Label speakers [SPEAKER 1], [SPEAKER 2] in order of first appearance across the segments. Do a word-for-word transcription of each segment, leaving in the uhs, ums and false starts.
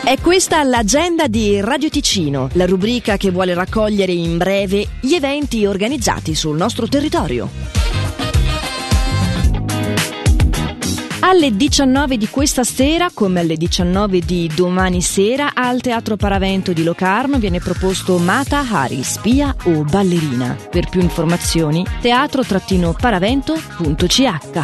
[SPEAKER 1] È questa l'agenda di Radio Ticino, la rubrica che vuole raccogliere in breve gli eventi organizzati sul nostro territorio. Alle diciannove di questa sera, come alle diciannove di domani sera, al Teatro Paravento di Locarno viene proposto Mata Hari, spia o ballerina. Per più informazioni, teatro paravento punto c h.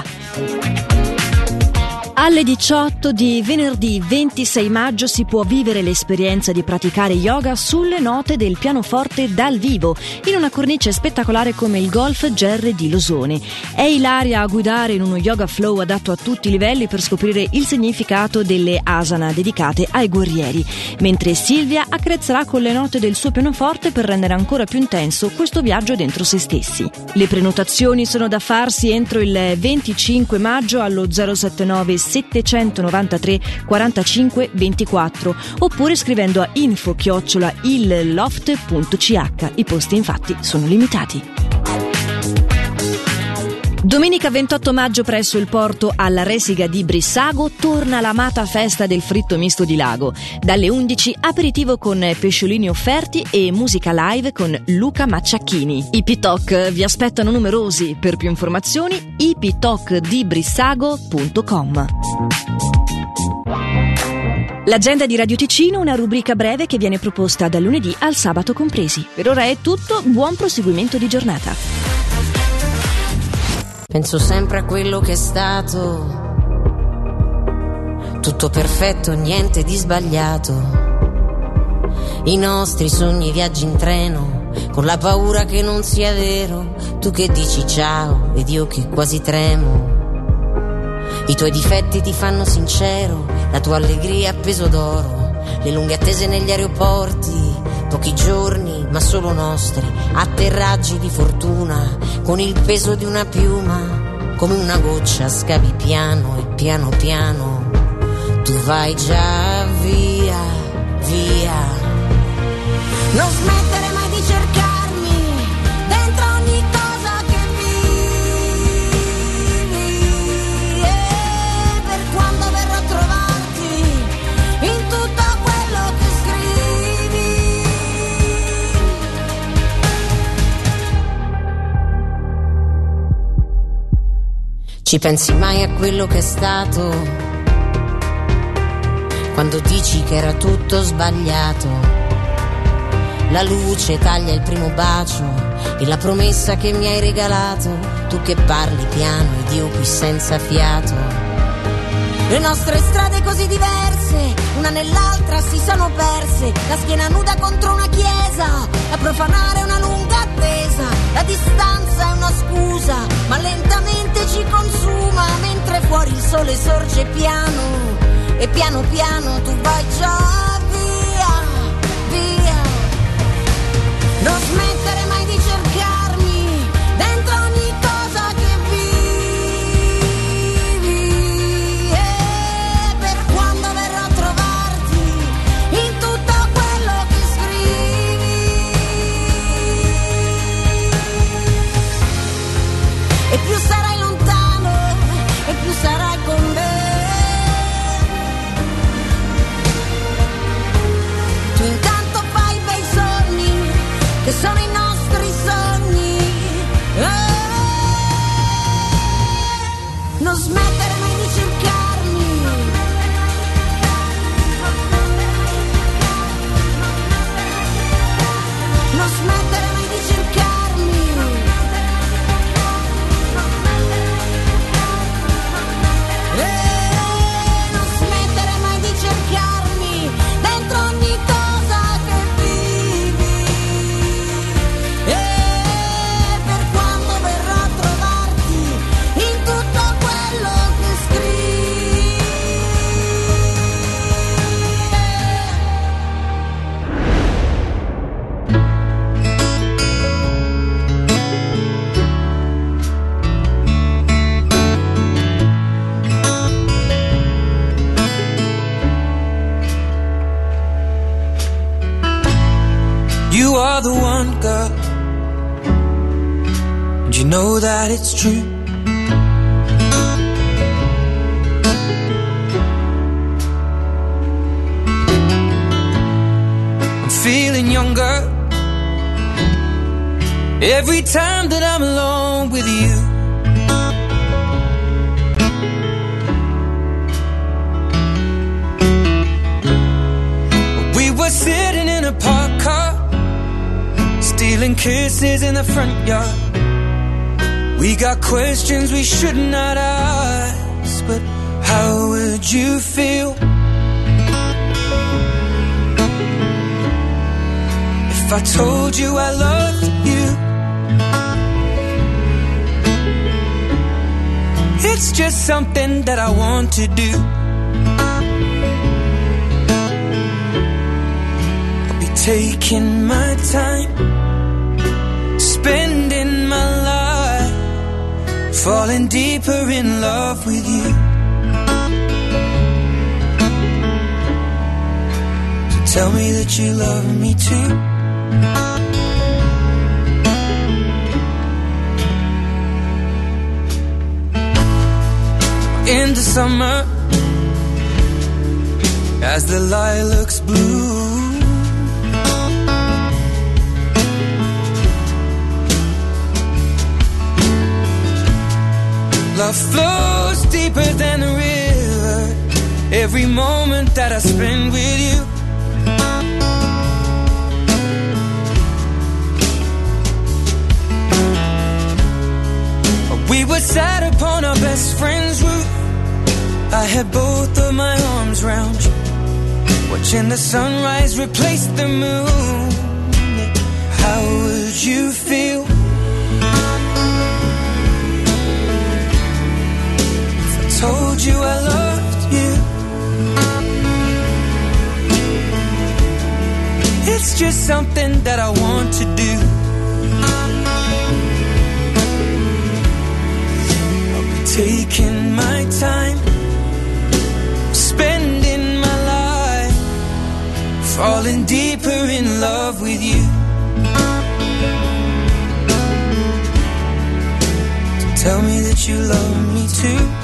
[SPEAKER 1] Alle diciotto di venerdì ventisei maggio si può vivere l'esperienza di praticare yoga sulle note del pianoforte dal vivo, in una cornice spettacolare come il Golf Gerre di Losone. È Ilaria a guidare in uno yoga flow adatto a tutti i livelli per scoprire il significato delle asana dedicate ai guerrieri, mentre Silvia accarezzerà con le note del suo pianoforte per rendere ancora più intenso questo viaggio dentro se stessi. Le prenotazioni sono da farsi entro il venticinque maggio allo zero settantanove settecentonovantatré quarantacinque ventiquattro oppure scrivendo a info chiocciola il loft punto c h. I posti infatti sono limitati. Domenica ventotto maggio presso il porto alla Resiga di Brissago torna l'amata festa del fritto misto di lago. Dalle undici aperitivo con pesciolini offerti e musica live con Luca Macciacchini. I P-Talk vi aspettano numerosi. Per più informazioni i p talk di brissago punto com. L'agenda di Radio Ticino, una rubrica breve che viene proposta dal lunedì al sabato compresi. Per ora è tutto, buon proseguimento di giornata.
[SPEAKER 2] Penso sempre a quello che è stato, tutto perfetto, niente di sbagliato. I nostri sogni, viaggi in treno, con la paura che non sia vero. Tu che dici ciao ed io che quasi tremo. I tuoi difetti ti fanno sincero, la tua allegria a peso d'oro, le lunghe attese negli aeroporti, pochi giorni ma solo nostri, atterraggi di fortuna con il peso di una piuma, come una goccia scavi piano e piano piano tu vai già via, via. Non smettere mai di cercarmi dentro ogni cosa che vivi, e per quando verrò a trovarti in tutto quello che scrivi. Ci pensi mai a quello che è stato, quando dici che era tutto sbagliato? La luce taglia il primo bacio e la promessa che mi hai regalato, tu che parli piano ed io qui senza fiato. Le nostre strade così diverse, una nell'altra si sono perse, la schiena nuda contro una chiesa, a profanare una lunga attesa. La distanza è una scusa, ma lentamente ci consuma, mentre fuori il sole sorge piano, e piano piano tu vai già via, via. Non smettere mai di cercarmi dentro ogni cosa che vivi, e per quando verrò a trovarti in tutto quello che scrivi. E più sarai lontano e più sarai con me. Tu intanto fai bei sogni che sono i nostri sogni, eh, non smettere mai di cercarmi, non smettere mai di cercarmi, eh, non smettere mai di cercarmi dentro ogni cosa che vivi, e per quando verrò a trovarti in tutto quello che scrivi.
[SPEAKER 3] You are the one, girl, and you know that it's true. every time that I'm alone with you. We were sitting in a parked car, stealing kisses in the front yard. We got questions we should not ask, but how would you feel if I told you I loved you? It's just something that I want to do. I'll be taking my time, spending my life, falling deeper in love with you. So tell me that you love me too. In the summer, as the lilacs bloom, love flows deeper than a river, every moment that I spend with you. We were sat upon our best friend's roof, I had both of my arms round you, watching the sunrise replace the moon. How would you feel if I told you I loved you? It's just something that I want to do. I'll be taking my time, spending my life, falling deeper in love with you. So tell me that you love me too.